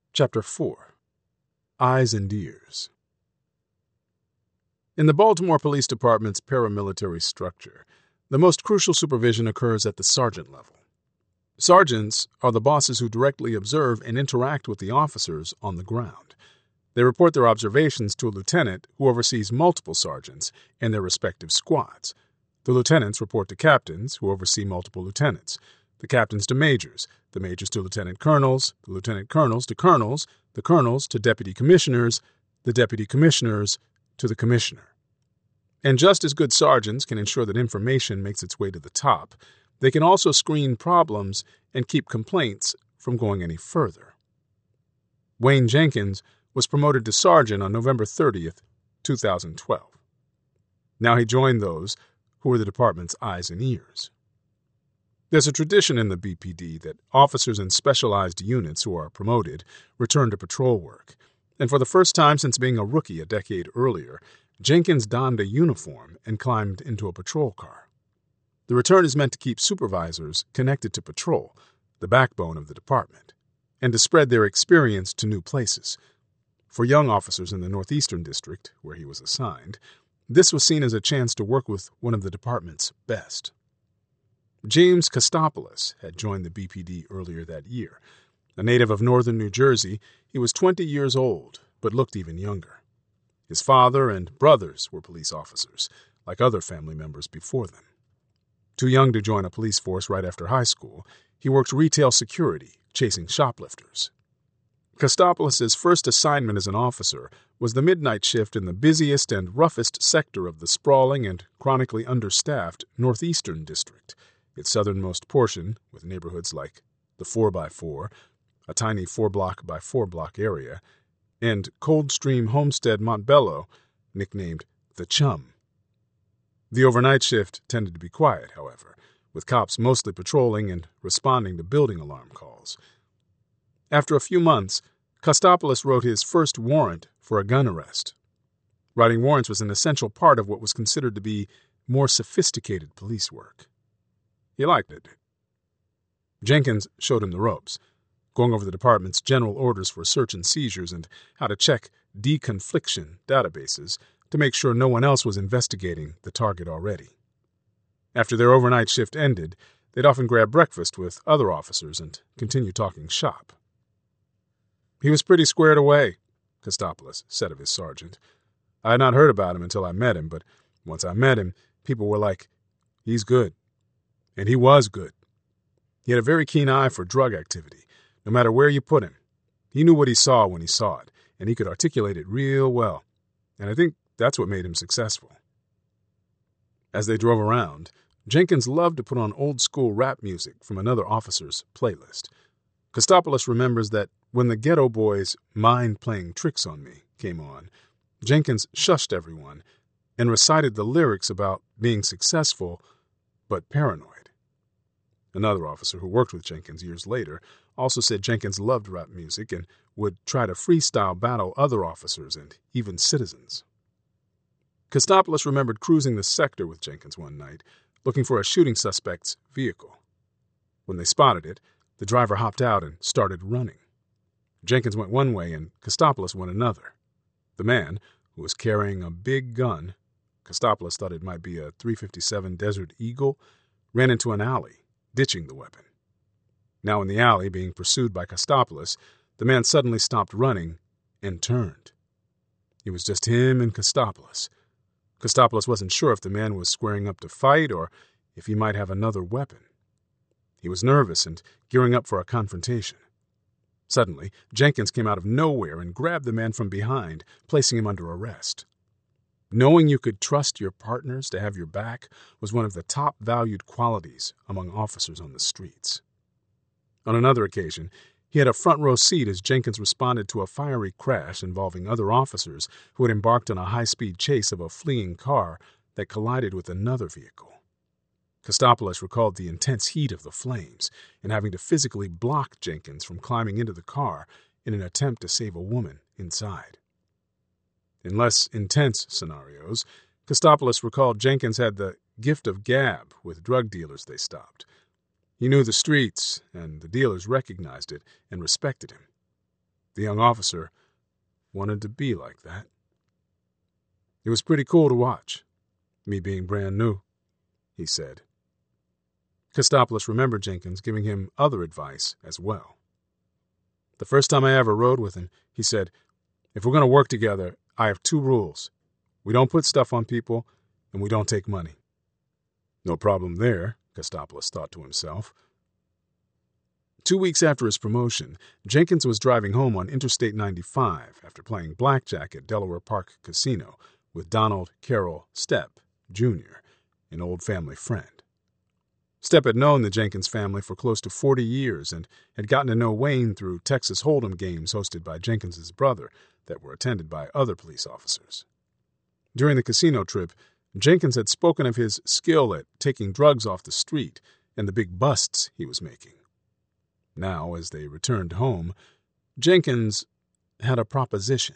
Chapter 4. Eyes and Ears. In the Baltimore Police Department's paramilitary structure, the most crucial supervision occurs at the sergeant level. Sergeants are the bosses who directly observe and interact with the officers on the ground. They report their observations to a lieutenant who oversees multiple sergeants and their respective squads. The lieutenants report to captains who oversee multiple lieutenants, the captains to majors, the majors to lieutenant colonels, the lieutenant colonels to colonels, the colonels to deputy commissioners, the deputy commissioners to the commissioner. And just as good sergeants can ensure that information makes its way to the top, they can also screen problems and keep complaints from going any further. Wayne Jenkins was promoted to sergeant on November 30th, 2012. Now he joined those who were the department's eyes and ears. There's a tradition in the BPD that officers in specialized units who are promoted return to patrol work, and for the first time since being a rookie a decade earlier, Jenkins donned a uniform and climbed into a patrol car. The return is meant to keep supervisors connected to patrol, the backbone of the department, and to spread their experience to new places. For young officers in the Northeastern District, where he was assigned, this was seen as a chance to work with one of the department's best. James Kostopoulos had joined the BPD earlier that year. A native of northern New Jersey, he was 20 years old, but looked even younger. His father and brothers were police officers, like other family members before them. Too young to join a police force right after high school, he worked retail security, chasing shoplifters. Kostopoulos' first assignment as an officer was the midnight shift in the busiest and roughest sector of the sprawling and chronically understaffed Northeastern District, its southernmost portion, with neighborhoods like the 4x4, a tiny 4-block-by-4-block area, and Coldstream Homestead Montbello, nicknamed the Chum. The overnight shift tended to be quiet, however, with cops mostly patrolling and responding to building alarm calls. After a few months, Kostopoulos wrote his first warrant for a gun arrest. Writing warrants was an essential part of what was considered to be more sophisticated police work. He liked it. Jenkins showed him the ropes, going over the department's general orders for search and seizures and how to check deconfliction databases to make sure no one else was investigating the target already. After their overnight shift ended, they'd often grab breakfast with other officers and continue talking shop. He was pretty squared away, Kostopoulos said of his sergeant. I had not heard about him until I met him, but once I met him, people were like, he's good. And he was good. He had a very keen eye for drug activity, no matter where you put him. He knew what he saw when he saw it, and he could articulate it real well. And I think that's what made him successful. As they drove around, Jenkins loved to put on old-school rap music from another officer's playlist. Kostopoulos remembers that when the Ghetto Boys' Mind Playing Tricks on Me came on, Jenkins shushed everyone and recited the lyrics about being successful but paranoid. Another officer who worked with Jenkins years later also said Jenkins loved rap music and would try to freestyle battle other officers and even citizens. Kostopoulos remembered cruising the sector with Jenkins one night, looking for a shooting suspect's vehicle. When they spotted it, the driver hopped out and started running. Jenkins went one way and Kostopoulos went another. The man, who was carrying a big gun, Kostopoulos thought it might be a .357 Desert Eagle, ran into an alley, ditching the weapon. Now in the alley, being pursued by Kostopoulos, the man suddenly stopped running and turned. It was just him and Kostopoulos. Kostopoulos wasn't sure if the man was squaring up to fight or if he might have another weapon. He was nervous and gearing up for a confrontation. Suddenly, Jenkins came out of nowhere and grabbed the man from behind, placing him under arrest. Knowing you could trust your partners to have your back was one of the top valued qualities among officers on the streets. On another occasion, he had a front row seat as Jenkins responded to a fiery crash involving other officers who had embarked on a high-speed chase of a fleeing car that collided with another vehicle. Kostopoulos recalled the intense heat of the flames and having to physically block Jenkins from climbing into the car in an attempt to save a woman inside. In less intense scenarios, Kostopoulos recalled Jenkins had the gift of gab with drug dealers they stopped. He knew the streets, and the dealers recognized it and respected him. The young officer wanted to be like that. It was pretty cool to watch, me being brand new, he said. Kostopoulos remembered Jenkins giving him other advice as well. The first time I ever rode with him, he said, "If we're going to work together, I have 2 rules. We don't put stuff on people, and we don't take money." No problem there, Kostopoulos thought to himself. 2 weeks after his promotion, Jenkins was driving home on Interstate 95 after playing blackjack at Delaware Park Casino with Donald Carroll Stepp, Jr., an old family friend. Stepp had known the Jenkins family for close to 40 years and had gotten to know Wayne through Texas Hold'em games hosted by Jenkins's brother that were attended by other police officers. During the casino trip, Jenkins had spoken of his skill at taking drugs off the street and the big busts he was making. Now, as they returned home, Jenkins had a proposition.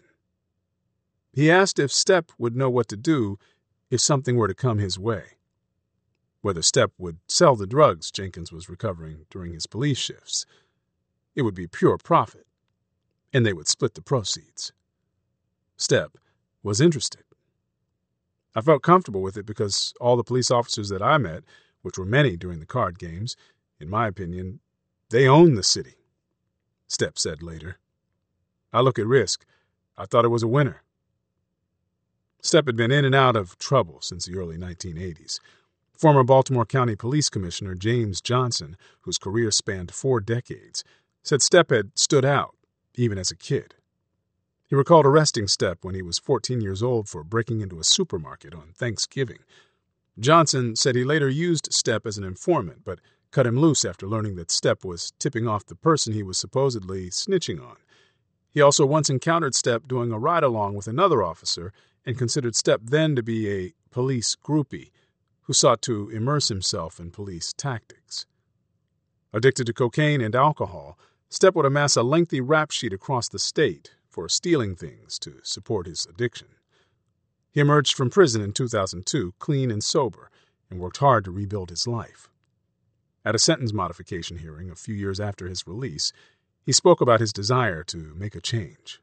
He asked if Stepp would know what to do if something were to come his way. Whether Stepp would sell the drugs Jenkins was recovering during his police shifts. It would be pure profit, and they would split the proceeds. Stepp was interested. I felt comfortable with it because all the police officers that I met, which were many during the card games, in my opinion, they own the city, Stepp said later. I look at risk. I thought it was a winner. Stepp had been in and out of trouble since the early 1980s. Former Baltimore County Police Commissioner James Johnson, whose career spanned 4 decades, said Stepp had stood out, even as a kid. He recalled arresting Stepp when he was 14 years old for breaking into a supermarket on Thanksgiving. Johnson said he later used Stepp as an informant, but cut him loose after learning that Stepp was tipping off the person he was supposedly snitching on. He also once encountered Stepp doing a ride-along with another officer and considered Stepp then to be a police groupie who sought to immerse himself in police tactics. Addicted to cocaine and alcohol, Stepp would amass a lengthy rap sheet across the state for stealing things to support his addiction. He emerged from prison in 2002, clean and sober, and worked hard to rebuild his life. At a sentence modification hearing a few years after his release, he spoke about his desire to make a change.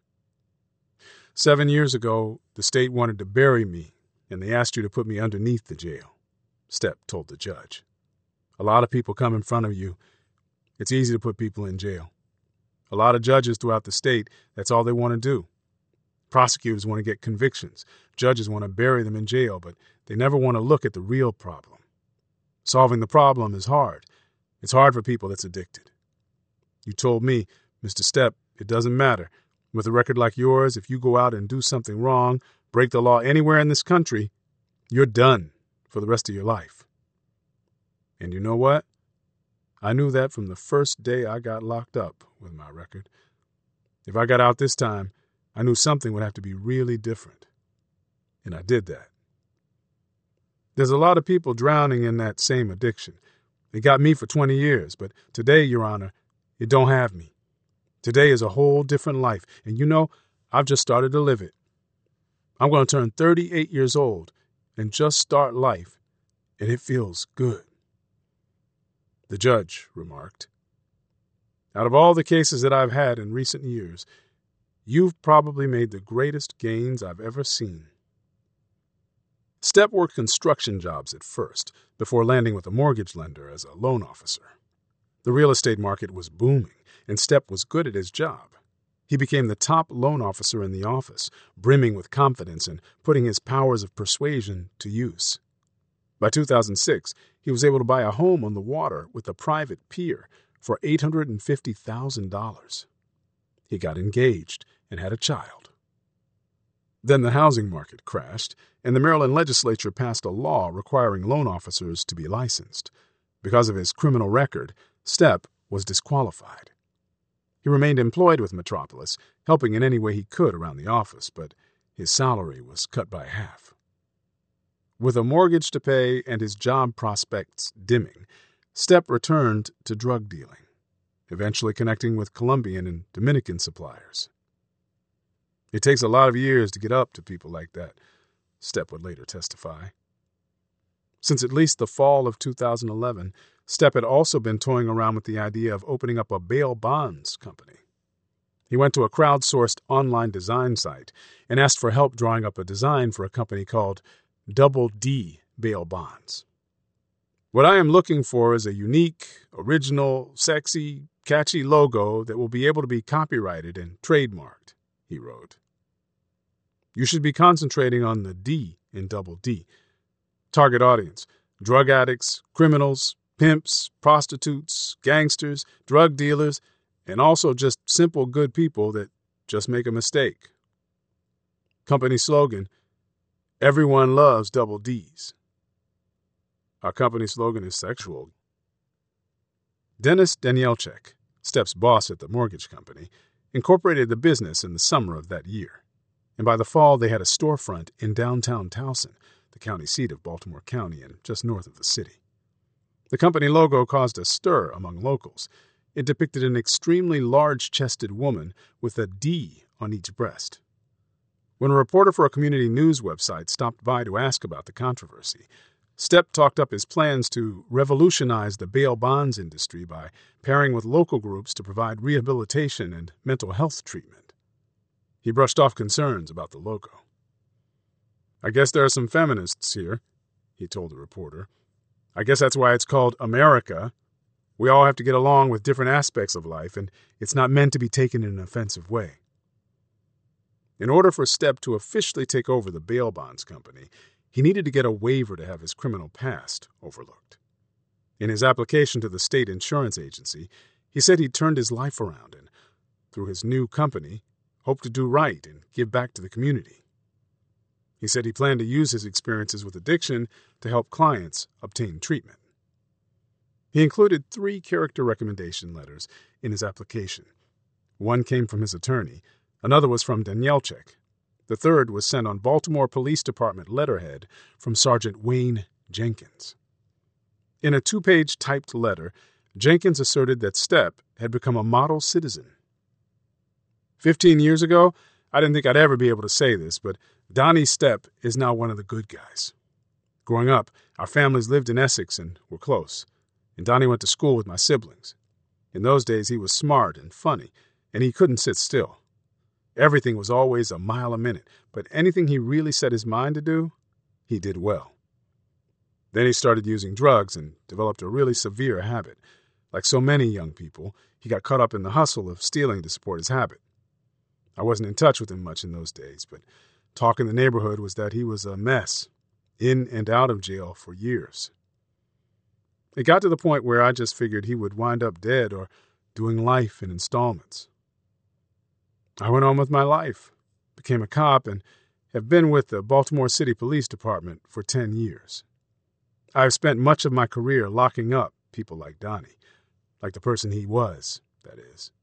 7 years ago, the state wanted to bury me, and they asked you to put me underneath the jail, Stepp told the judge. A lot of people come in front of you. It's easy to put people in jail. A lot of judges throughout the state, that's all they want to do. Prosecutors want to get convictions. Judges want to bury them in jail, but they never want to look at the real problem. Solving the problem is hard. It's hard for people that's addicted. You told me, Mr. Stepp, it doesn't matter. With a record like yours, if you go out and do something wrong, break the law anywhere in this country, you're done for the rest of your life. And you know what? I knew that from the first day I got locked up with my record. If I got out this time, I knew something would have to be really different. And I did that. There's a lot of people drowning in that same addiction. It got me for 20 years, but today, Your Honor, it don't have me. Today is a whole different life, and you know, I've just started to live it. I'm going to turn 38 years old and just start life, and it feels good. The judge remarked, out of all the cases that I've had in recent years, you've probably made the greatest gains I've ever seen. Stepp worked construction jobs at first, before landing with a mortgage lender as a loan officer. The real estate market was booming, and Stepp was good at his job. He became the top loan officer in the office, brimming with confidence and putting his powers of persuasion to use. By 2006, he was able to buy a home on the water with a private pier for $850,000. He got engaged and had a child. Then the housing market crashed, and the Maryland legislature passed a law requiring loan officers to be licensed. Because of his criminal record, Stepp was disqualified. He remained employed with Metropolis, helping in any way he could around the office, but his salary was cut by half. With a mortgage to pay and his job prospects dimming, Stepp returned to drug dealing, eventually connecting with Colombian and Dominican suppliers. It takes a lot of years to get up to people like that, Stepp would later testify. Since at least the fall of 2011, Stepp had also been toying around with the idea of opening up a bail bonds company. He went to a crowdsourced online design site and asked for help drawing up a design for a company called Double D Bail Bonds. "What I am looking for is a unique, original, sexy, catchy logo that will be able to be copyrighted and trademarked," he wrote. "You should be concentrating on the D in Double D. Target audience: drug addicts, criminals, pimps, prostitutes, gangsters, drug dealers, and also just simple good people that just make a mistake. Company slogan: everyone loves Double Ds. Our company slogan is sexual." Dennis Danielchek, Step's boss at the mortgage company, incorporated the business in the summer of that year, and by the fall they had a storefront in downtown Towson, the county seat of Baltimore County and just north of the city. The company logo caused a stir among locals. It depicted an extremely large-chested woman with a D on each breast. When a reporter for a community news website stopped by to ask about the controversy, Stepp talked up his plans to revolutionize the bail bonds industry by pairing with local groups to provide rehabilitation and mental health treatment. He brushed off concerns about the logo. "I guess there are some feminists here," he told the reporter. "I guess that's why it's called America. We all have to get along with different aspects of life, and it's not meant to be taken in an offensive way." In order for Stepp to officially take over the bail bonds company, he needed to get a waiver to have his criminal past overlooked. In his application to the state insurance agency, he said he'd turned his life around and, through his new company, hoped to do right and give back to the community. He said he planned to use his experiences with addiction to help clients obtain treatment. He included 3 character recommendation letters in his application. One came from his attorney, another was from Danielchek. The third was sent on Baltimore Police Department letterhead from Sergeant Wayne Jenkins. In a 2-page typed letter, Jenkins asserted that Stepp had become a model citizen. 15 years ago, I didn't think I'd ever be able to say this, but Donnie Stepp is now one of the good guys. Growing up, our families lived in Essex and were close, and Donnie went to school with my siblings. In those days, he was smart and funny, and he couldn't sit still. Everything was always a mile a minute, but anything he really set his mind to do, he did well. Then he started using drugs and developed a really severe habit. Like so many young people, he got caught up in the hustle of stealing to support his habit. I wasn't in touch with him much in those days, but talk in the neighborhood was that he was a mess, in and out of jail for years. It got to the point where I just figured he would wind up dead or doing life in installments. I went on with my life, became a cop, and have been with the Baltimore City Police Department for 10 years. I've spent much of my career locking up people like Donnie, like the person he was, that is.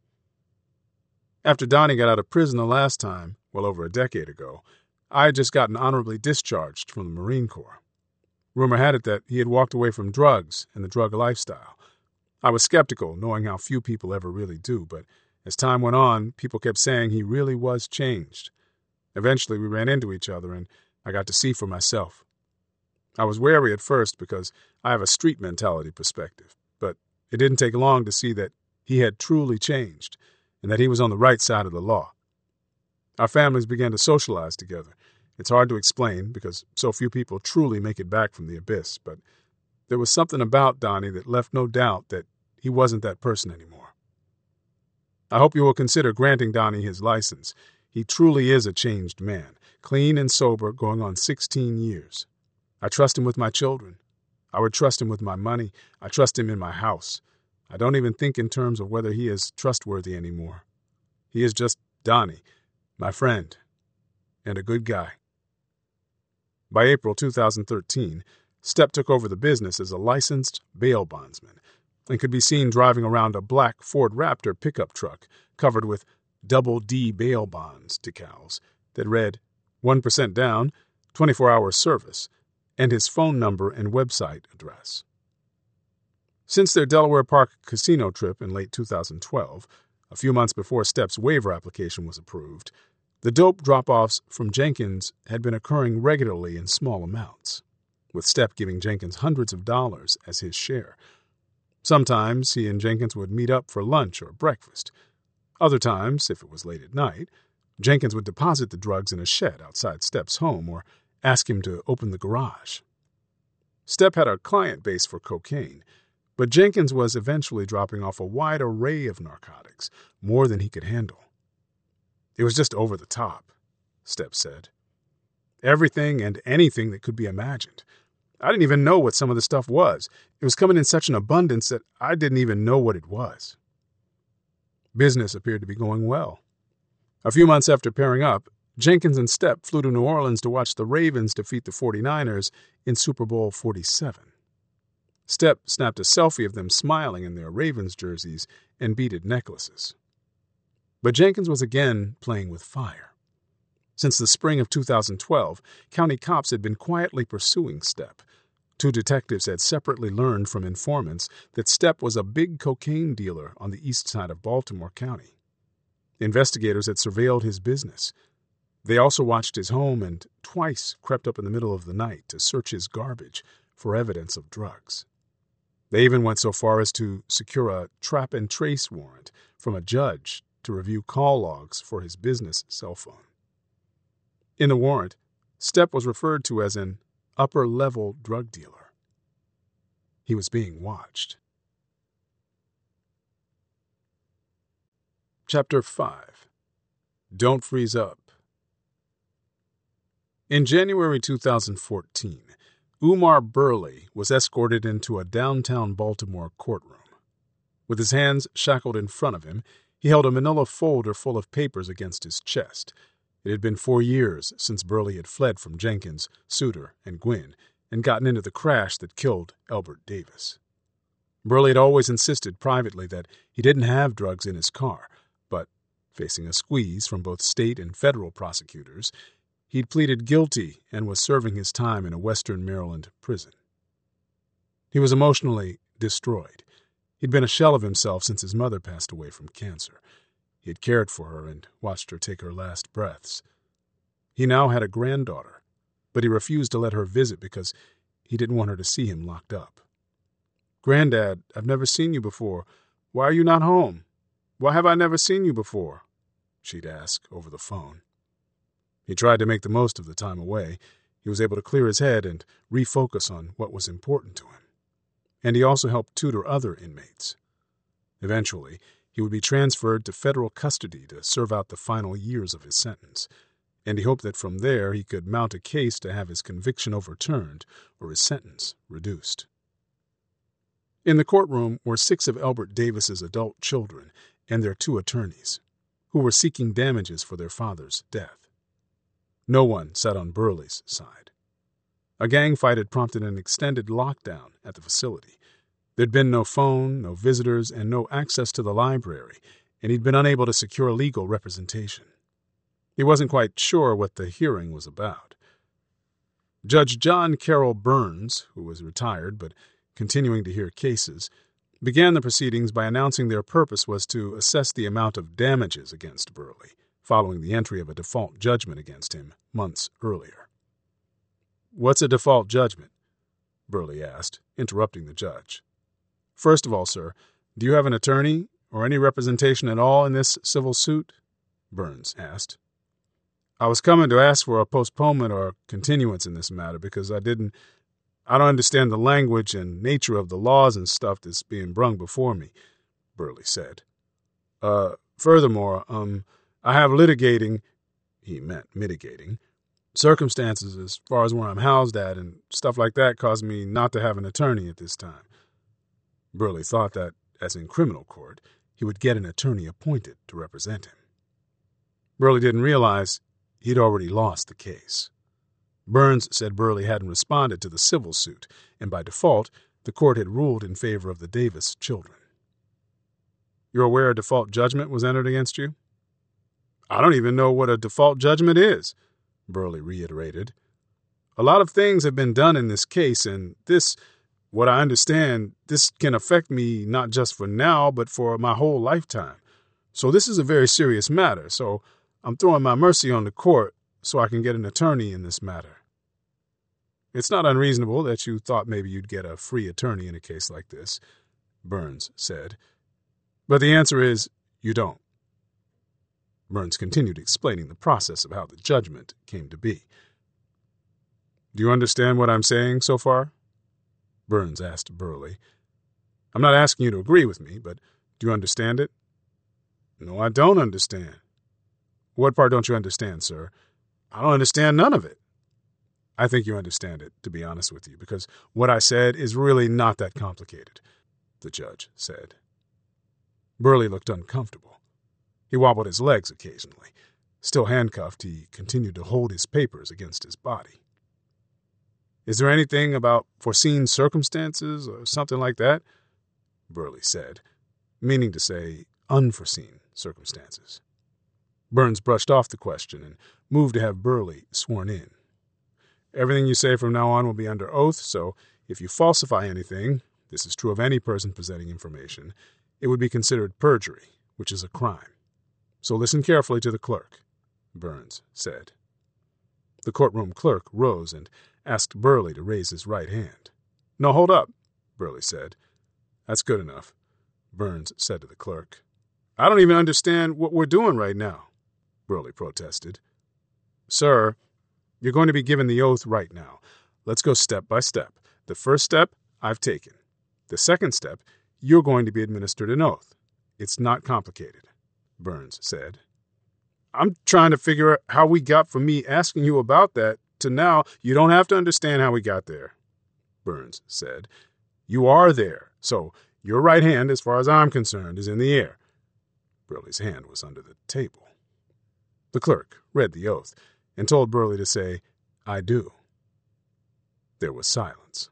After Donnie got out of prison the last time, well over a decade ago, I had just gotten honorably discharged from the Marine Corps. Rumor had it that he had walked away from drugs and the drug lifestyle. I was skeptical, knowing how few people ever really do, but as time went on, people kept saying he really was changed. Eventually, we ran into each other, and I got to see for myself. I was wary at first because I have a street mentality perspective, but it didn't take long to see that he had truly changed and that he was on the right side of the law. Our families began to socialize together. It's hard to explain because so few people truly make it back from the abyss, but there was something about Donnie that left no doubt that he wasn't that person anymore. I hope you will consider granting Donnie his license. He truly is a changed man, clean and sober, going on 16 years. I trust him with my children. I would trust him with my money. I trust him in my house. I don't even think in terms of whether he is trustworthy anymore. He is just Donnie, my friend, and a good guy. By April 2013, Stepp took over the business as a licensed bail bondsman and could be seen driving around a black Ford Raptor pickup truck covered with Double D bail bonds decals that read 1% down, 24-hour service, and his phone number and website address. Since their Delaware Park casino trip in late 2012, a few months before Stepp's waiver application was approved, the dope drop-offs from Jenkins had been occurring regularly in small amounts, with Stepp giving Jenkins hundreds of dollars as his share. Sometimes he and Jenkins would meet up for lunch or breakfast. Other times, if it was late at night, Jenkins would deposit the drugs in a shed outside Stepp's home or ask him to open the garage. Stepp had a client base for cocaine, but Jenkins was eventually dropping off a wide array of narcotics, more than he could handle. It was just over the top, Stepp said. Everything and anything that could be imagined. I didn't even know what some of the stuff was. It was coming in such an abundance that I didn't even know what it was. Business appeared to be going well. A few months after pairing up, Jenkins and Stepp flew to New Orleans to watch the Ravens defeat the 49ers in Super Bowl 47. Stepp snapped a selfie of them smiling in their Ravens jerseys and beaded necklaces. But Jenkins was again playing with fire. Since the spring of 2012, county cops had been quietly pursuing Stepp. 2 detectives had separately learned from informants that Stepp was a big cocaine dealer on the east side of Baltimore County. Investigators had surveilled his business. They also watched his home and twice crept up in the middle of the night to search his garbage for evidence of drugs. They even went so far as to secure a trap and trace warrant from a judge to review call logs for his business cell phone. In the warrant, Stepp was referred to as an upper-level drug dealer. He was being watched. Chapter 5. Don't Freeze Up. In January 2014, Umar Burley was escorted into a downtown Baltimore courtroom. With his hands shackled in front of him, he held a manila folder full of papers against his chest. It had been 4 years since Burley had fled from Jenkins, Suter, and Gwynn and gotten into the crash that killed Elbert Davis. Burley had always insisted privately that he didn't have drugs in his car, but, facing a squeeze from both state and federal prosecutors, he'd pleaded guilty and was serving his time in a Western Maryland prison. He was emotionally destroyed. He'd been a shell of himself since his mother passed away from cancer. He had cared for her and watched her take her last breaths. He now had a granddaughter, but he refused to let her visit because he didn't want her to see him locked up. "Granddad, I've never seen you before. Why are you not home? Why have I never seen you before?" she'd ask over the phone. He tried to make the most of the time away. He was able to clear his head and refocus on what was important to him. And he also helped tutor other inmates. Eventually, he would be transferred to federal custody to serve out the final years of his sentence, and he hoped that from there he could mount a case to have his conviction overturned or his sentence reduced. In the courtroom were 6 of Elbert Davis's adult children and their 2 attorneys, who were seeking damages for their father's death. No one sat on Burley's side. A gang fight had prompted an extended lockdown at the facility. There'd been no phone, no visitors, and no access to the library, and he'd been unable to secure legal representation. He wasn't quite sure what the hearing was about. Judge John Carroll Burns, who was retired but continuing to hear cases, began the proceedings by announcing their purpose was to assess the amount of damages against Burley, following the entry of a default judgment against him months earlier. "What's a default judgment?" Burley asked, interrupting the judge. "First of all, sir, do you have an attorney or any representation at all in this civil suit?" Burns asked. "I was coming to ask for a postponement or continuance in this matter because I don't understand the language and nature of the laws and stuff that's being brung before me," Burley said. Furthermore, I have litigating," he meant mitigating, "circumstances as far as where I'm housed at and stuff like that caused me not to have an attorney at this time." Burley thought that, as in criminal court, he would get an attorney appointed to represent him. Burley didn't realize he'd already lost the case. Burns said Burley hadn't responded to the civil suit, and by default, the court had ruled in favor of the Davis children. "You're aware a default judgment was entered against you?" "I don't even know what a default judgment is," Burley reiterated. "A lot of things have been done in this case, and what I understand, this can affect me not just for now, but for my whole lifetime. So this is a very serious matter, so I'm throwing my mercy on the court so I can get an attorney in this matter." "It's not unreasonable that you thought maybe you'd get a free attorney in a case like this," Burns said. "But the answer is, you don't." Burns continued explaining the process of how the judgment came to be. "Do you understand what I'm saying so far?" Burns asked Burley. "I'm not asking you to agree with me, but do you understand it?" "No, I don't understand." "What part don't you understand, sir?" "I don't understand none of it." "I think you understand it, to be honest with you, because what I said is really not that complicated," the judge said. Burley looked uncomfortable. He wobbled his legs occasionally. Still handcuffed, he continued to hold his papers against his body. "Is there anything about foreseen circumstances or something like that?" Burley said, meaning to say unforeseen circumstances. Burns brushed off the question and moved to have Burley sworn in. "Everything you say from now on will be under oath, so if you falsify anything, this is true of any person presenting information, it would be considered perjury, which is a crime. So listen carefully to the clerk," Burns said. The courtroom clerk rose and asked Burley to raise his right hand. "No, hold up," Burley said. "That's good enough," Burns said to the clerk. "I don't even understand what we're doing right now," Burley protested. "Sir, you're going to be given the oath right now. Let's go step by step. The first step, I've taken. The second step, you're going to be administered an oath. It's not complicated," Burns said. "I'm trying to figure out how we got from me asking you about that to now." "You don't have to understand how we got there," Burns said. "You are there, so your right hand, as far as I'm concerned, is in the air." Burley's hand was under the table. The clerk read the oath and told Burley to say, "I do." There was silence.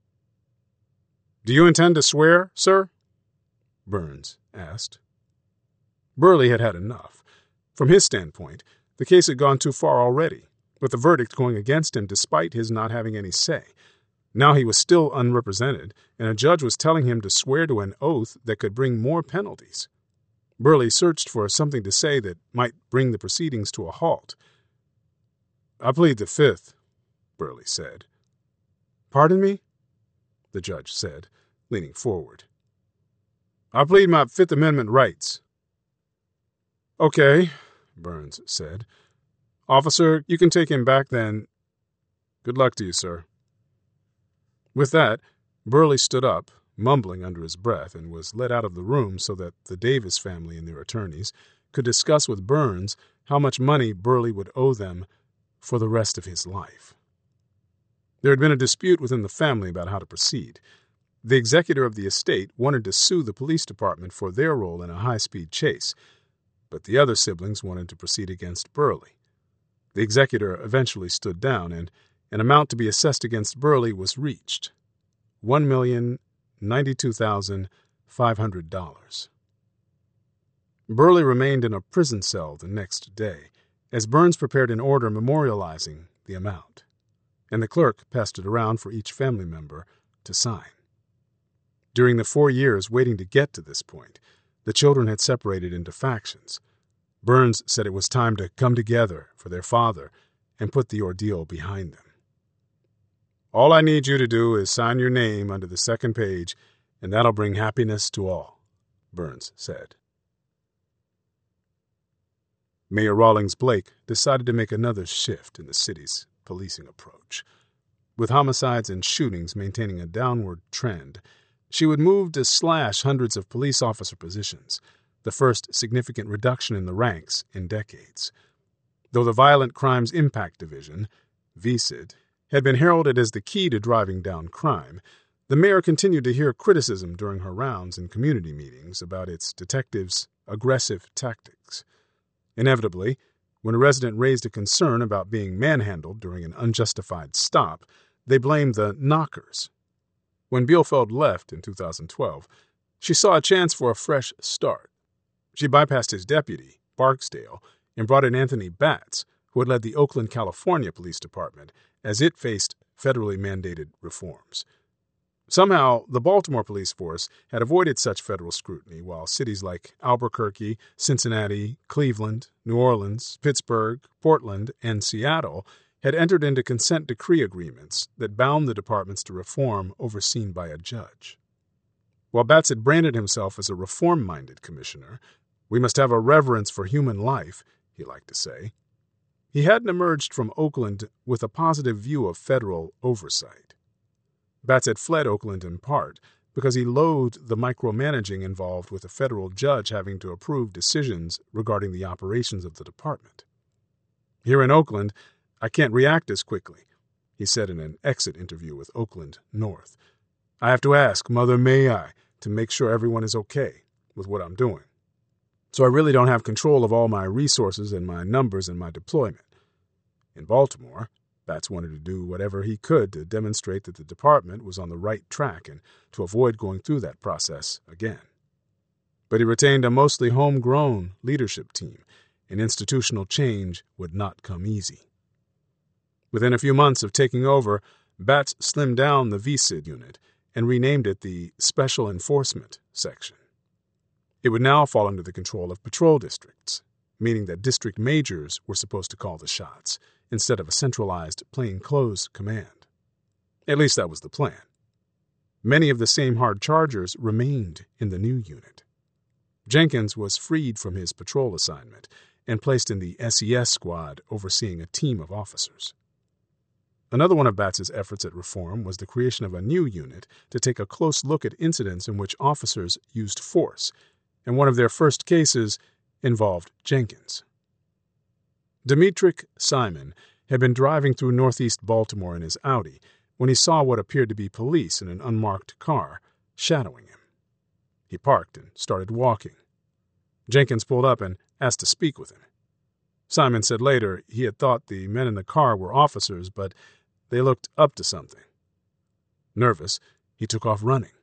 "Do you intend to swear, sir?" Burns asked. Burley had had enough. From his standpoint, the case had gone too far already, with the verdict going against him despite his not having any say. Now he was still unrepresented, and a judge was telling him to swear to an oath that could bring more penalties. Burley searched for something to say that might bring the proceedings to a halt. "I plead the Fifth," Burley said. "Pardon me?" the judge said, leaning forward. "I plead my Fifth Amendment rights." "Okay," Burns said. "Officer, you can take him back then. Good luck to you, sir." With that, Burley stood up, mumbling under his breath, and was led out of the room so that the Davis family and their attorneys could discuss with Burns how much money Burley would owe them for the rest of his life. There had been a dispute within the family about how to proceed. The executor of the estate wanted to sue the police department for their role in a high-speed chase, but the other siblings wanted to proceed against Burley. The executor eventually stood down, and an amount to be assessed against Burley was reached: $1,092,500. Burley remained in a prison cell the next day, as Burns prepared an order memorializing the amount, and the clerk passed it around for each family member to sign. During the 4 years waiting to get to this point, the children had separated into factions. Burns said it was time to come together for their father and put the ordeal behind them. "All I need you to do is sign your name under the second page, and that'll bring happiness to all," Burns said. Mayor Rawlings Blake decided to make another shift in the city's policing approach. With homicides and shootings maintaining a downward trend, she would move to slash hundreds of police officer positions, the first significant reduction in the ranks in decades. Though the Violent Crimes Impact Division, VCID, had been heralded as the key to driving down crime, the mayor continued to hear criticism during her rounds in community meetings about its detectives' aggressive tactics. Inevitably, when a resident raised a concern about being manhandled during an unjustified stop, they blamed the knockers. When Bielfeld left in 2012, she saw a chance for a fresh start. She bypassed his deputy, Barksdale, and brought in Anthony Batts, who had led the Oakland, California Police Department as it faced federally mandated reforms. Somehow, the Baltimore police force had avoided such federal scrutiny, while cities like Albuquerque, Cincinnati, Cleveland, New Orleans, Pittsburgh, Portland, and Seattle had entered into consent decree agreements that bound the departments to reform overseen by a judge. While Batts had branded himself as a reform-minded commissioner, We must have a reverence for human life, he liked to say. He hadn't emerged from Oakland with a positive view of federal oversight. Batts had fled Oakland in part because he loathed the micromanaging involved with a federal judge having to approve decisions regarding the operations of the department. Here in Oakland, I can't react as quickly, he said in an exit interview with Oakland North. I have to ask Mother May I to make sure everyone is okay with what I'm doing. So I really don't have control of all my resources and my numbers and my deployment. In Baltimore, Batts wanted to do whatever he could to demonstrate that the department was on the right track and to avoid going through that process again. But he retained a mostly homegrown leadership team, and institutional change would not come easy. Within a few months of taking over, Batts slimmed down the VSID unit and renamed it the Special Enforcement Section. It would now fall under the control of patrol districts, meaning that district majors were supposed to call the shots, instead of a centralized plainclothes command. At least that was the plan. Many of the same hard chargers remained in the new unit. Jenkins was freed from his patrol assignment and placed in the SES squad overseeing a team of officers. Another one of Batts's efforts at reform was the creation of a new unit to take a close look at incidents in which officers used force, and one of their first cases involved Jenkins. Demetric Simon had been driving through northeast Baltimore in his Audi when he saw what appeared to be police in an unmarked car shadowing him. He parked and started walking. Jenkins pulled up and asked to speak with him. Simon said later he had thought the men in the car were officers, but they looked up to something. Nervous, he took off running.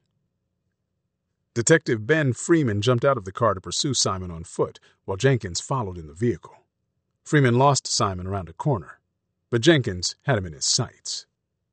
Detective Ben Freeman jumped out of the car to pursue Simon on foot, while Jenkins followed in the vehicle. Freeman lost Simon around a corner, but Jenkins had him in his sights.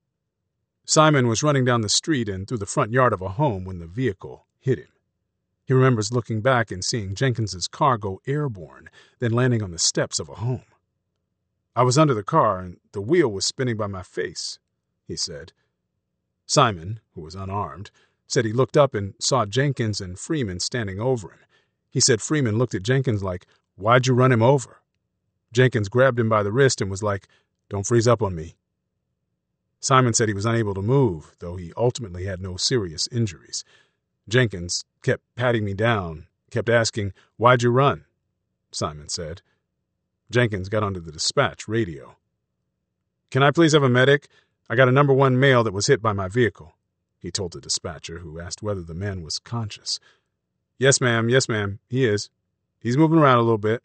Simon was running down the street and through the front yard of a home when the vehicle hit him. He remembers looking back and seeing Jenkins's car go airborne, then landing on the steps of a home. I was under the car and the wheel was spinning by my face, he said. Simon, who was unarmed, said he looked up and saw Jenkins and Freeman standing over him. He said Freeman looked at Jenkins like, "Why'd you run him over?" Jenkins grabbed him by the wrist and was like, "Don't freeze up on me." Simon said he was unable to move, though he ultimately had no serious injuries. Jenkins kept patting me down, kept asking, "Why'd you run?" Simon said. Jenkins got onto the dispatch radio. "Can I please have a medic? I got a number 1 male that was hit by my vehicle," he told the dispatcher, who asked whether the man was conscious. Yes, ma'am, he is. He's moving around a little bit."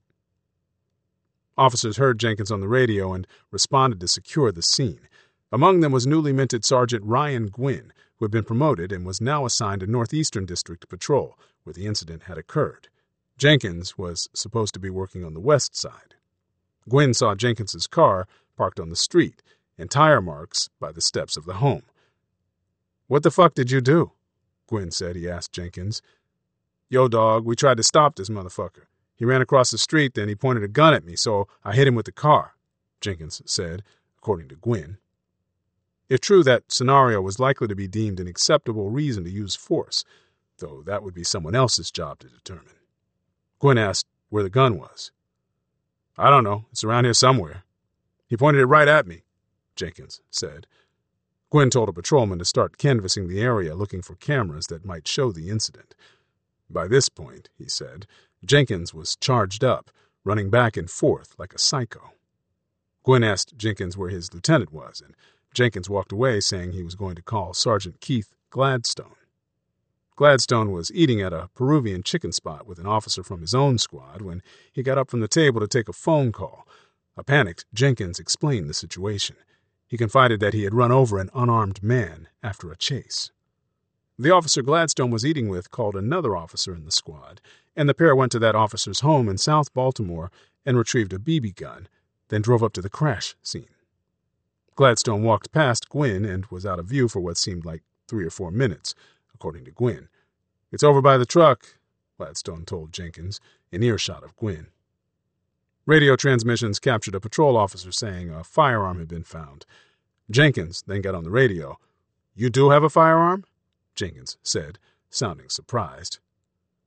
Officers heard Jenkins on the radio and responded to secure the scene. Among them was newly minted Sergeant Ryan Gwynn, who had been promoted and was now assigned to Northeastern District Patrol, where the incident had occurred. Jenkins was supposed to be working on the west side. Gwynn saw Jenkins's car parked on the street and tire marks by the steps of the home. "What the fuck did you do?" Gwynn said he asked Jenkins. "Yo, dog, we tried to stop this motherfucker. He ran across the street, then he pointed a gun at me, so I hit him with the car," Jenkins said, according to Gwynn. If true, that scenario was likely to be deemed an acceptable reason to use force, though that would be someone else's job to determine. Gwynn asked where the gun was. "I don't know. It's around here somewhere. He pointed it right at me," Jenkins said. Gwynn told a patrolman to start canvassing the area looking for cameras that might show the incident. By this point, he said, Jenkins was charged up, running back and forth like a psycho. Gwynn asked Jenkins where his lieutenant was, and Jenkins walked away saying he was going to call Sergeant Keith Gladstone. Gladstone was eating at a Peruvian chicken spot with an officer from his own squad when he got up from the table to take a phone call. A panicked Jenkins explained the situation. He confided that he had run over an unarmed man after a chase. The officer Gladstone was eating with called another officer in the squad, and the pair went to that officer's home in South Baltimore and retrieved a BB gun, then drove up to the crash scene. Gladstone walked past Gwynn and was out of view for what seemed like 3 or 4 minutes, according to Gwynn. "It's over by the truck," Gladstone told Jenkins, in earshot of Gwynn. Radio transmissions captured a patrol officer saying a firearm had been found. Jenkins then got on the radio. "You do have a firearm?" Jenkins said, sounding surprised.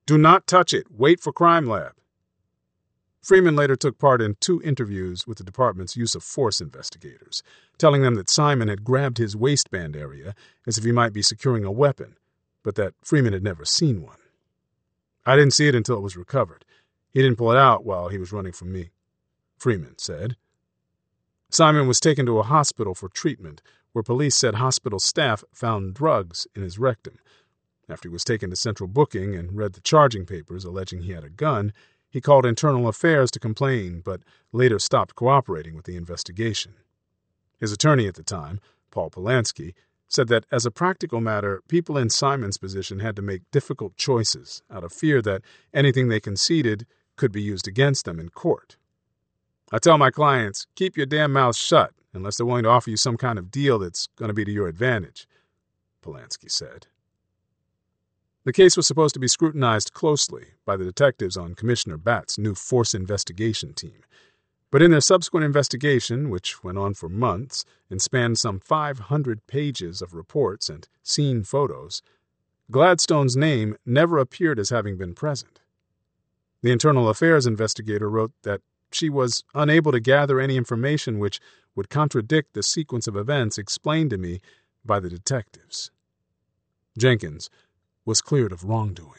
Do not touch it. Wait for crime lab. Freeman later took part in 2 interviews with the department's use of force investigators, telling them that Simon had grabbed his waistband area as if he might be securing a weapon, but that Freeman had never seen one. I didn't see it until it was recovered. He didn't pull it out while he was running from me, Freeman said. Simon was taken to a hospital for treatment, where police said hospital staff found drugs in his rectum. After he was taken to central booking and read the charging papers alleging he had a gun, he called Internal Affairs to complain, but later stopped cooperating with the investigation. His attorney at the time, Paul Polanski, said that as a practical matter, people in Simon's position had to make difficult choices out of fear that anything they conceded could be used against them in court. I tell my clients, keep your damn mouth shut unless they're willing to offer you some kind of deal that's going to be to your advantage, Polanski said. The case was supposed to be scrutinized closely by the detectives on Commissioner Batt's new force investigation team. But in their subsequent investigation, which went on for months and spanned some 500 pages of reports and scene photos, Gladstone's name never appeared as having been present. The Internal Affairs investigator wrote that she was unable to gather any information which would contradict the sequence of events explained to me by the detectives. Jenkins was cleared of wrongdoing.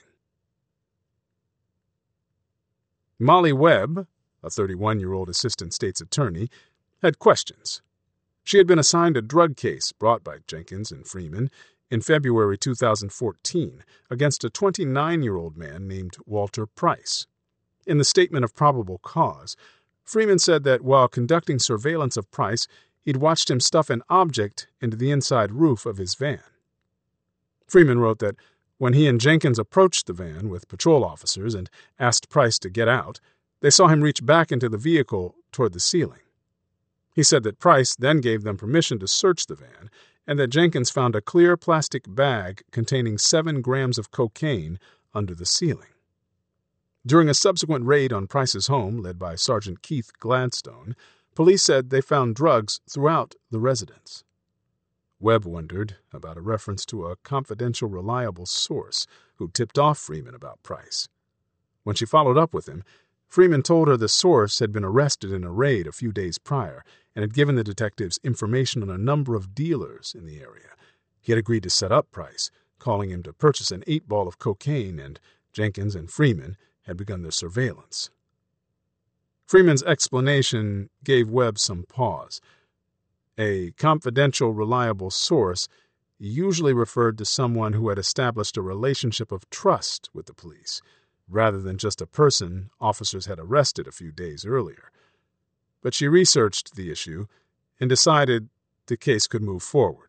Molly Webb, a 31-year-old assistant state's attorney, had questions. She had been assigned a drug case brought by Jenkins and Freeman in February 2014 against a 29-year-old man named Walter Price. In the statement of probable cause, Freeman said that while conducting surveillance of Price, he'd watched him stuff an object into the inside roof of his van. Freeman wrote that when he and Jenkins approached the van with patrol officers and asked Price to get out, they saw him reach back into the vehicle toward the ceiling. He said that Price then gave them permission to search the van and that Jenkins found a clear plastic bag containing 7 grams of cocaine under the ceiling. During a subsequent raid on Price's home, led by Sergeant Keith Gladstone, police said they found drugs throughout the residence. Webb wondered about a reference to a confidential, reliable source who tipped off Freeman about Price. When she followed up with him, Freeman told her the source had been arrested in a raid a few days prior and had given the detectives information on a number of dealers in the area. He had agreed to set up Price, calling him to purchase an 8-ball of cocaine, and Jenkins and Freeman had begun their surveillance. Freeman's explanation gave Webb some pause. A confidential, reliable source usually referred to someone who had established a relationship of trust with the police, rather than just a person officers had arrested a few days earlier. But she researched the issue and decided the case could move forward.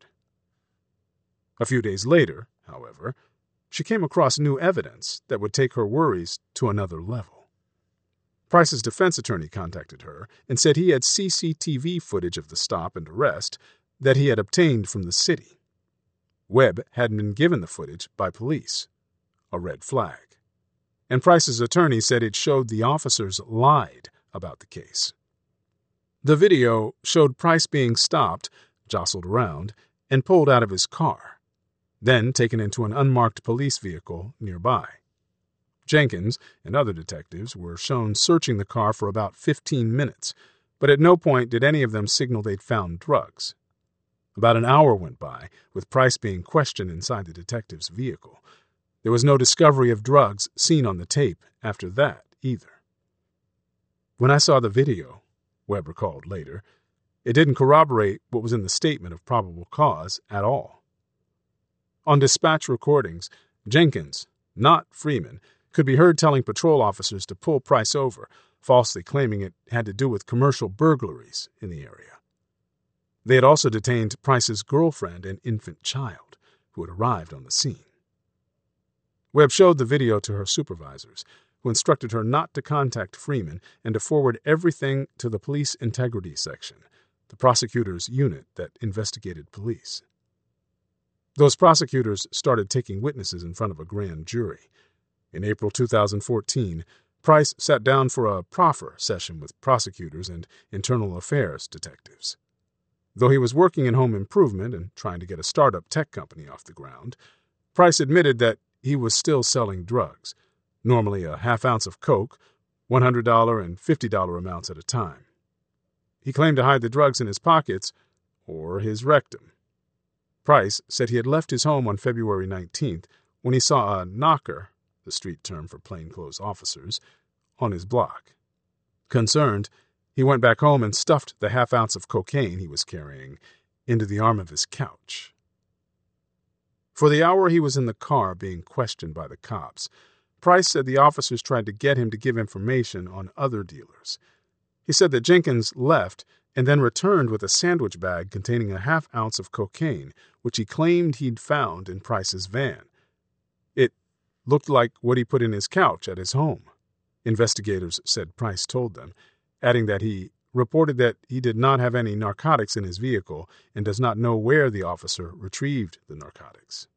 A few days later, however, she came across new evidence that would take her worries to another level. Price's defense attorney contacted her and said he had CCTV footage of the stop and arrest that he had obtained from the city. Webb hadn't been given the footage by police, a red flag. And Price's attorney said it showed the officers lied about the case. The video showed Price being stopped, jostled around, and pulled out of his car, then taken into an unmarked police vehicle nearby. Jenkins and other detectives were shown searching the car for about 15 minutes, but at no point did any of them signal they'd found drugs. About an hour went by, with Price being questioned inside the detective's vehicle. There was no discovery of drugs seen on the tape after that, either. When I saw the video, Webb recalled later, it didn't corroborate what was in the statement of probable cause at all. On dispatch recordings, Jenkins, not Freeman, could be heard telling patrol officers to pull Price over, falsely claiming it had to do with commercial burglaries in the area. They had also detained Price's girlfriend and infant child, who had arrived on the scene. Webb showed the video to her supervisors, who instructed her not to contact Freeman and to forward everything to the Police Integrity Section, the prosecutor's unit that investigated police. Those prosecutors started taking witnesses in front of a grand jury. In April 2014, Price sat down for a proffer session with prosecutors and internal affairs detectives. Though he was working in home improvement and trying to get a startup tech company off the ground, Price admitted that he was still selling drugs, normally a half ounce of coke, $100 and $50 amounts at a time. He claimed to hide the drugs in his pockets or his rectum. Price said he had left his home on February 19th when he saw a knocker, the street term for plainclothes officers, on his block. Concerned, he went back home and stuffed the half ounce of cocaine he was carrying into the arm of his couch. For the hour he was in the car being questioned by the cops, Price said the officers tried to get him to give information on other dealers. He said that Jenkins left and then returned with a sandwich bag containing a half ounce of cocaine, which he claimed he'd found in Price's van. It looked like what he put in his couch at his home, investigators said Price told them, adding that he reported that he did not have any narcotics in his vehicle and does not know where the officer retrieved the narcotics.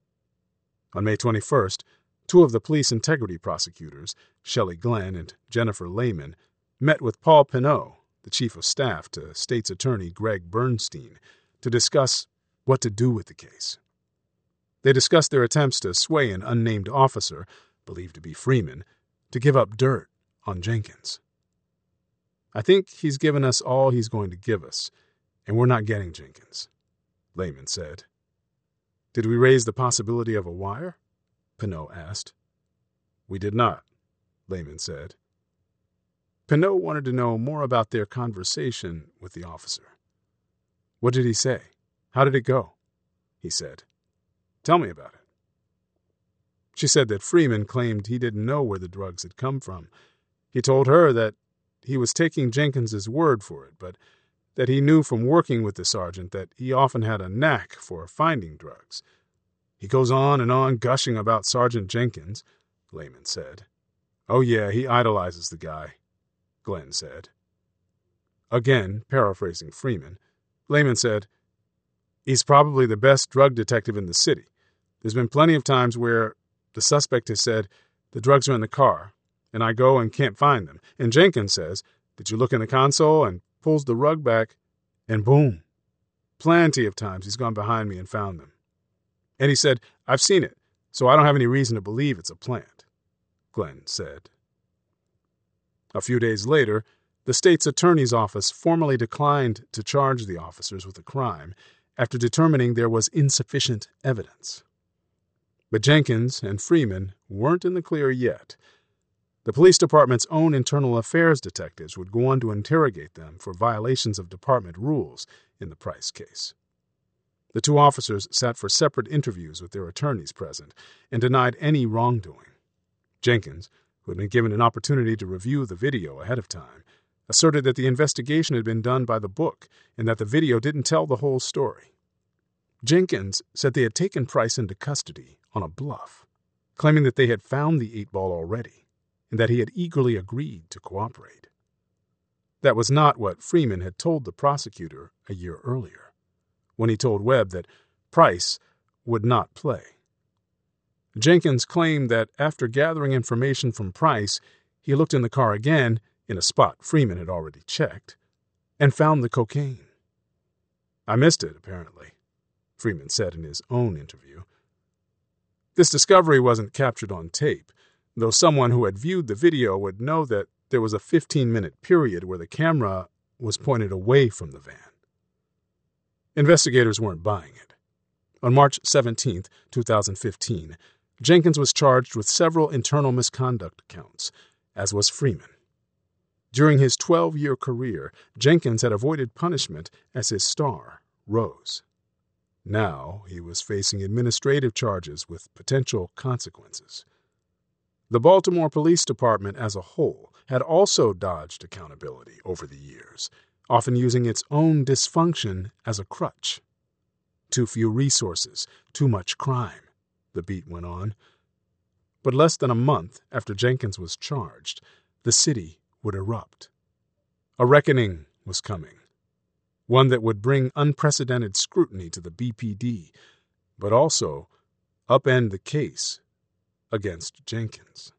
On May 21st, two of the police integrity prosecutors, Shelley Glenn and Jennifer Lehman, met with Paul Pinot, the chief of staff to State's Attorney Greg Bernstein, to discuss what to do with the case. They discussed their attempts to sway an unnamed officer, believed to be Freeman, to give up dirt on Jenkins. "I think he's given us all he's going to give us, and we're not getting Jenkins," Lehman said. "Did we raise the possibility of a wire?" Pinot asked. "We did not," Lehman said. Pinot wanted to know more about their conversation with the officer. "What did he say? How did it go?" he said. "Tell me about it." She said that Freeman claimed he didn't know where the drugs had come from. He told her that he was taking Jenkins's word for it, but that he knew from working with the sergeant that he often had a knack for finding drugs. "He goes on and on gushing about Sergeant Jenkins," Lehman said. "Oh yeah, he idolizes the guy," Glenn said. Again, paraphrasing Freeman, Lehman said, "He's probably the best drug detective in the city. There's been plenty of times where the suspect has said, 'The drugs are in the car,' and I go and can't find them. And Jenkins says, 'Did you look in the console?' and pulls the rug back, and boom. Plenty of times he's gone behind me and found them. And he said, 'I've seen it, so I don't have any reason to believe it's a plant,'" Glenn said. A few days later, the state's attorney's office formally declined to charge the officers with the crime after determining there was insufficient evidence. But Jenkins and Freeman weren't in the clear yet. The police department's own internal affairs detectives would go on to interrogate them for violations of department rules in the Price case. The two officers sat for separate interviews with their attorneys present and denied any wrongdoing. Jenkins, who had been given an opportunity to review the video ahead of time, asserted that the investigation had been done by the book and that the video didn't tell the whole story. Jenkins said they had taken Price into custody on a bluff, claiming that they had found the 8-ball already and that he had eagerly agreed to cooperate. That was not what Freeman had told the prosecutor a year earlier, when he told Webb that Price would not play. Jenkins claimed that after gathering information from Price, he looked in the car again, in a spot Freeman had already checked, and found the cocaine. "I missed it, apparently," Freeman said in his own interview. This discovery wasn't captured on tape, though someone who had viewed the video would know that there was a 15-minute period where the camera was pointed away from the van. Investigators weren't buying it. On March 17, 2015, Jenkins was charged with several internal misconduct counts, as was Freeman. During his 12-year career, Jenkins had avoided punishment as his star rose. Now he was facing administrative charges with potential consequences. The Baltimore Police Department as a whole had also dodged accountability over the years, often using its own dysfunction as a crutch. Too few resources, too much crime, the beat went on. But less than a month after Jenkins was charged, the city would erupt. A reckoning was coming, one that would bring unprecedented scrutiny to the BPD, but also upend the case against Jenkins.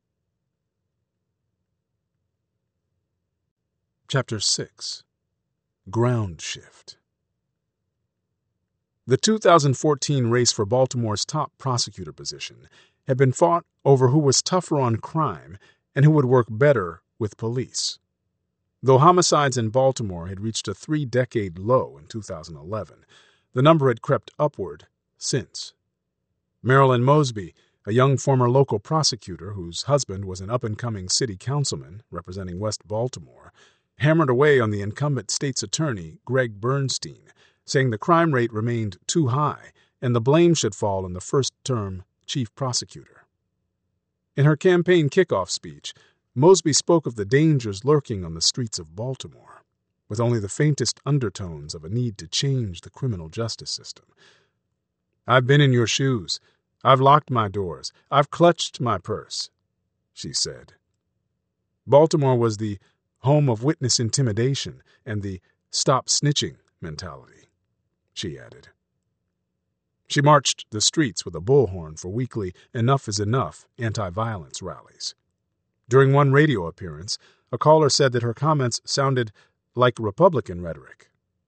Chapter 6. Ground Shift. The 2014 race for Baltimore's top prosecutor position had been fought over who was tougher on crime and who would work better with police. Though homicides in Baltimore had reached a 3-decade low in 2011, the number had crept upward since. Marilyn Mosby, a young former local prosecutor whose husband was an up-and-coming city councilman representing West Baltimore, hammered away on the incumbent state's attorney, Greg Bernstein, saying the crime rate remained too high and the blame should fall on the first-term chief prosecutor. In her campaign kickoff speech, Mosby spoke of the dangers lurking on the streets of Baltimore, with only the faintest undertones of a need to change the criminal justice system. "I've been in your shoes. I've locked my doors. I've clutched my purse," she said. Baltimore was the home of witness intimidation and the stop snitching mentality, she added. She marched the streets with a bullhorn for weekly Enough is Enough anti-violence rallies. During one radio appearance, a caller said that her comments sounded like Republican rhetoric.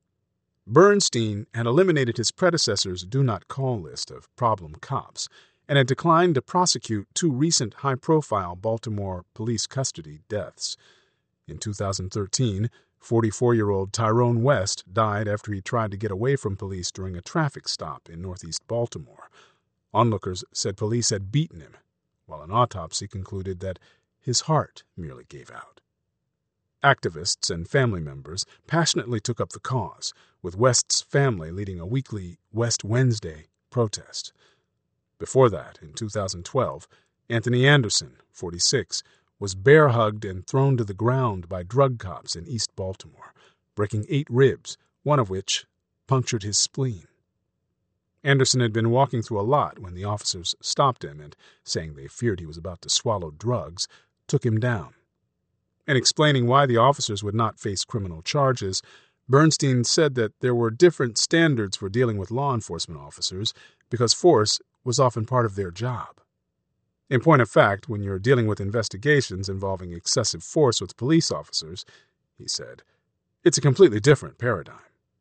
Bernstein had eliminated his predecessor's do not call list of problem cops and had declined to prosecute 2 recent high-profile Baltimore police custody deaths. In 2013, 44-year-old Tyrone West died after he tried to get away from police during a traffic stop in northeast Baltimore. Onlookers said police had beaten him, while an autopsy concluded that his heart merely gave out. Activists and family members passionately took up the cause, with West's family leading a weekly West Wednesday protest. Before that, in 2012, Anthony Anderson, 46, was bear-hugged and thrown to the ground by drug cops in East Baltimore, breaking 8 ribs, one of which punctured his spleen. Anderson had been walking through a lot when the officers stopped him and, saying they feared he was about to swallow drugs, took him down. In explaining why the officers would not face criminal charges, Bernstein said that there were different standards for dealing with law enforcement officers because force was often part of their job. In point of fact, when you're dealing with investigations involving excessive force with police officers, he said, it's a completely different paradigm.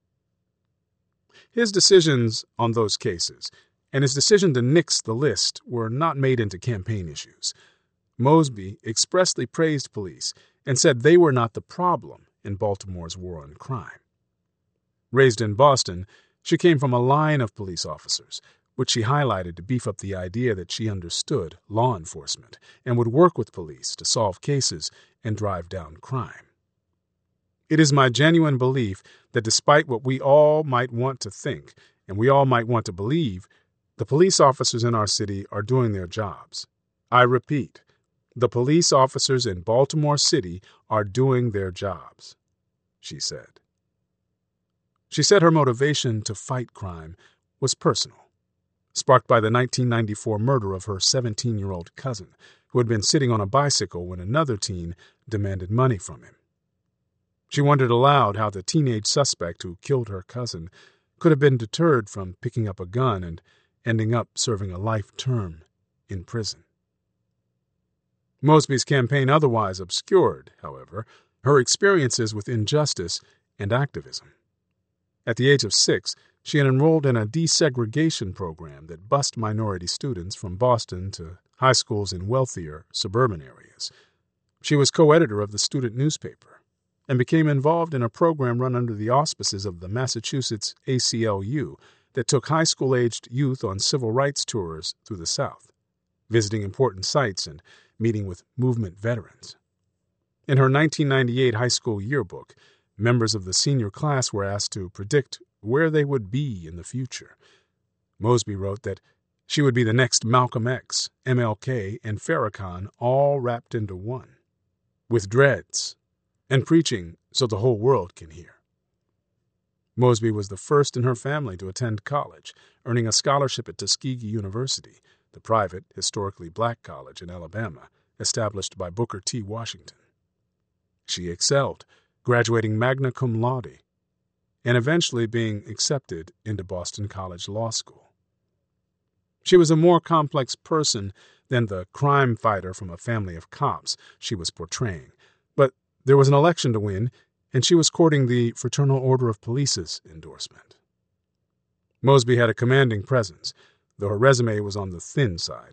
His decisions on those cases and his decision to nix the list were not made into campaign issues. Mosby expressly praised police and said they were not the problem in Baltimore's war on crime. Raised in Boston, she came from a line of police officers, which she highlighted to beef up the idea that she understood law enforcement and would work with police to solve cases and drive down crime. It is my genuine belief that despite what we all might want to think and we all might want to believe, the police officers in our city are doing their jobs. I repeat, the police officers in Baltimore City are doing their jobs, she said. She said her motivation to fight crime was personal, sparked by the 1994 murder of her 17-year-old cousin, who had been sitting on a bicycle when another teen demanded money from him. She wondered aloud how the teenage suspect who killed her cousin could have been deterred from picking up a gun and ending up serving a life term in prison. Mosby's campaign otherwise obscured, however, her experiences with injustice and activism. At the age of 6, she had enrolled in a desegregation program that bused minority students from Boston to high schools in wealthier suburban areas. She was co-editor of the student newspaper and became involved in a program run under the auspices of the Massachusetts ACLU that took high school-aged youth on civil rights tours through the South, visiting important sites and meeting with movement veterans. In her 1998 high school yearbook, members of the senior class were asked to predict where they would be in the future. Mosby wrote that she would be the next Malcolm X, MLK, and Farrakhan all wrapped into one, with dreads, and preaching so the whole world can hear. Mosby was the first in her family to attend college, earning a scholarship at Tuskegee University, the private, historically black college in Alabama, established by Booker T. Washington. She excelled, graduating magna cum laude, and eventually being accepted into Boston College Law School. She was a more complex person than the crime fighter from a family of cops she was portraying, but there was an election to win, and she was courting the Fraternal Order of Police's endorsement. Mosby had a commanding presence, though her resume was on the thin side.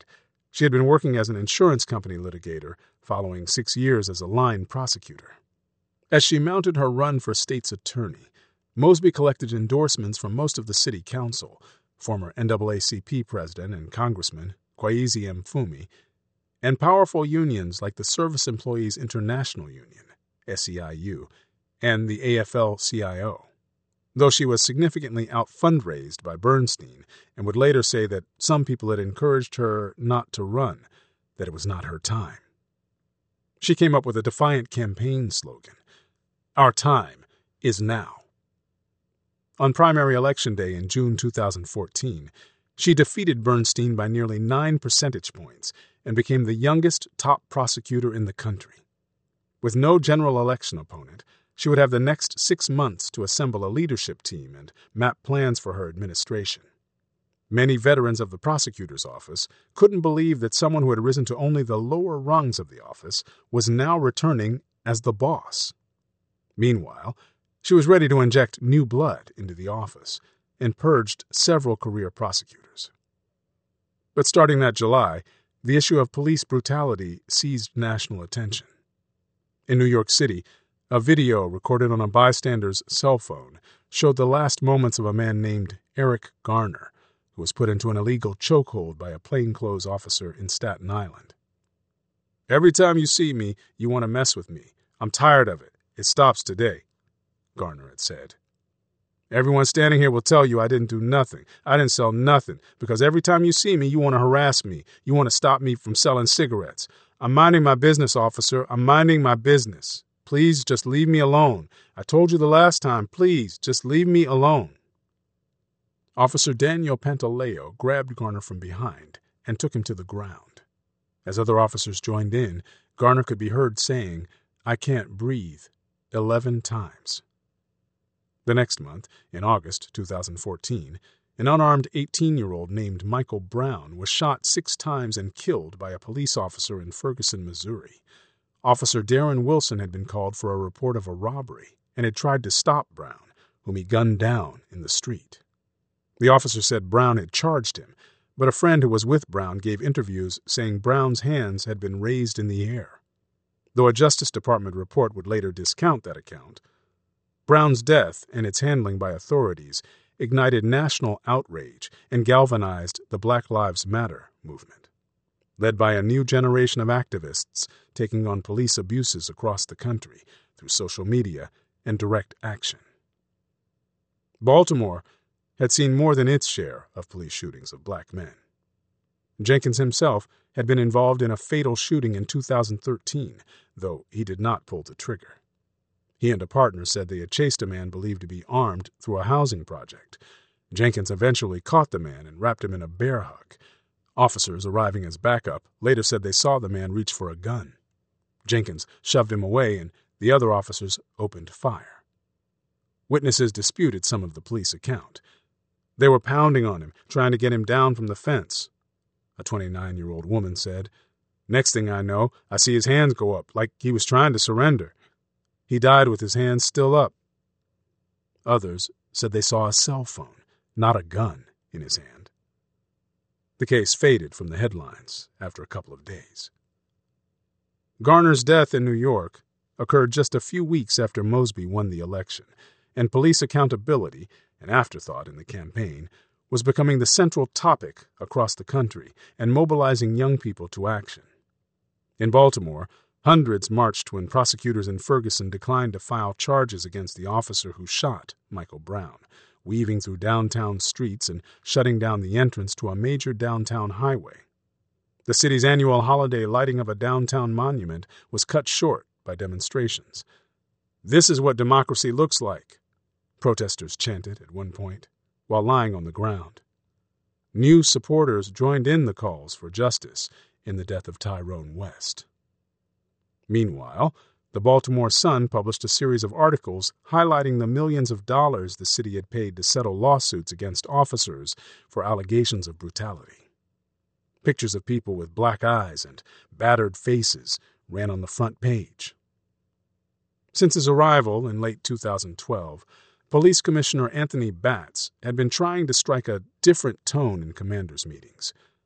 She had been working as an insurance company litigator, following 6 years as a line prosecutor. As she mounted her run for state's attorney, Mosby collected endorsements from most of the city council, former NAACP president and Congressman Kwesi Mfume, and powerful unions like the Service Employees International Union, SEIU, and the AFL-CIO, though she was significantly out-fundraised by Bernstein and would later say that some people had encouraged her not to run, that it was not her time. She came up with a defiant campaign slogan, "Our time is now." On primary election day in June 2014, she defeated Bernstein by nearly 9 percentage points and became the youngest top prosecutor in the country. With no general election opponent, she would have the next 6 months to assemble a leadership team and map plans for her administration. Many veterans of the prosecutor's office couldn't believe that someone who had risen to only the lower rungs of the office was now returning as the boss. Meanwhile, she was ready to inject new blood into the office and purged several career prosecutors. But starting that July, the issue of police brutality seized national attention. In New York City, a video recorded on a bystander's cell phone showed the last moments of a man named Eric Garner, who was put into an illegal chokehold by a plainclothes officer in Staten Island. "Every time you see me, you want to mess with me. I'm tired of it. It stops today," Garner had said. "Everyone standing here will tell you I didn't do nothing. I didn't sell nothing, because every time you see me, you want to harass me. You want to stop me from selling cigarettes. I'm minding my business, officer. I'm minding my business. Please just leave me alone. I told you the last time. Please just leave me alone." Officer Daniel Pantaleo grabbed Garner from behind and took him to the ground. As other officers joined in, Garner could be heard saying, "I can't breathe," 11 times. The next month, in August 2014, an unarmed 18-year-old named Michael Brown was shot 6 times and killed by a police officer in Ferguson, Missouri. Officer Darren Wilson had been called for a report of a robbery and had tried to stop Brown, whom he gunned down in the street. The officer said Brown had charged him, but a friend who was with Brown gave interviews saying Brown's hands had been raised in the air. Though a Justice Department report would later discount that account, Brown's death and its handling by authorities ignited national outrage and galvanized the Black Lives Matter movement, led by a new generation of activists taking on police abuses across the country through social media and direct action. Baltimore had seen more than its share of police shootings of black men. Jenkins himself had been involved in a fatal shooting in 2013, though he did not pull the trigger. He and a partner said they had chased a man believed to be armed through a housing project. Jenkins eventually caught the man and wrapped him in a bear hug. Officers arriving as backup later said they saw the man reach for a gun. Jenkins shoved him away and the other officers opened fire. Witnesses disputed some of the police account. They were pounding on him, trying to get him down from the fence. A 29-year-old woman said, "Next thing I know, I see his hands go up like he was trying to surrender. He died with his hands still up." Others said they saw a cell phone, not a gun, in his hand. The case faded from the headlines after a couple of days. Garner's death in New York occurred just a few weeks after Mosby won the election, and police accountability, an afterthought in the campaign, was becoming the central topic across the country and mobilizing young people to action. In Baltimore, hundreds marched when prosecutors in Ferguson declined to file charges against the officer who shot Michael Brown, weaving through downtown streets and shutting down the entrance to a major downtown highway. The city's annual holiday lighting of a downtown monument was cut short by demonstrations. "This is what democracy looks like," protesters chanted at one point, while lying on the ground. New supporters joined in the calls for justice in the death of Tyrone West. Meanwhile, the Baltimore Sun published a series of articles highlighting the millions of dollars the city had paid to settle lawsuits against officers for allegations of brutality. Pictures of people with black eyes and battered faces ran on the front page. Since his arrival in late 2012, Police Commissioner Anthony Batts had been trying to strike a different tone in commanders' meetings.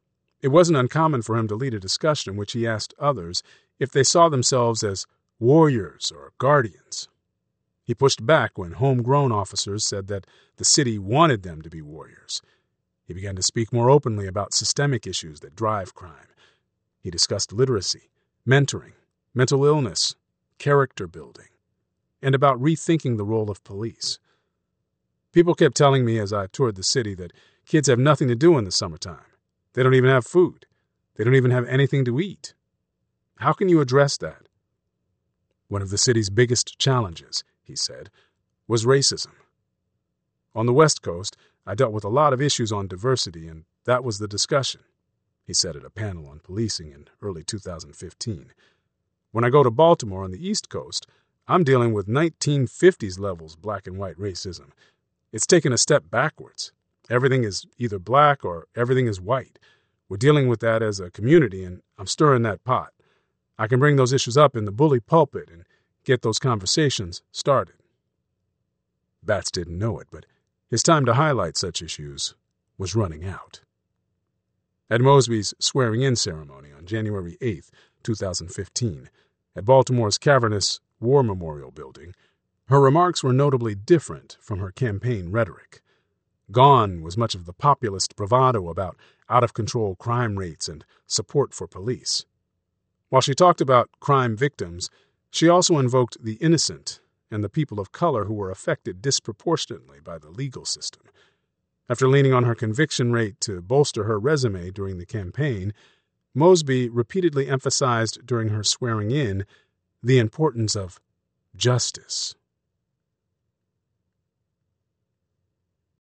It wasn't uncommon for him to lead a discussion in which he asked others if they saw themselves as warriors or guardians. He pushed back when homegrown officers said that the city wanted them to be warriors. He began to speak more openly about systemic issues that drive crime. He discussed literacy, mentoring, mental illness, character building, and about rethinking the role of police. People kept telling me as I toured the city that kids have nothing to do in the summertime. They don't even have food. They don't even have anything to eat. How can you address that? One of the city's biggest challenges, he said, was racism. On the West Coast, I dealt with a lot of issues on diversity, and that was the discussion, he said at a panel on policing in early 2015. When I go to Baltimore on the East Coast, I'm dealing with 1950s levels black and white racism. It's taken a step backwards. Everything is either black or everything is white. We're dealing with that as a community, and I'm stirring that pot. I can bring those issues up in the bully pulpit and get those conversations started. Batts didn't know it, but his time to highlight such issues was running out. At Mosby's swearing-in ceremony on January 8, 2015, at Baltimore's cavernous War Memorial Building, her remarks were notably different from her campaign rhetoric. Gone was much of the populist bravado about out-of-control crime rates and support for police. While she talked about crime victims, she also invoked the innocent and the people of color who were affected disproportionately by the legal system. After leaning on her conviction rate to bolster her resume during the campaign, Mosby repeatedly emphasized during her swearing-in the importance of justice.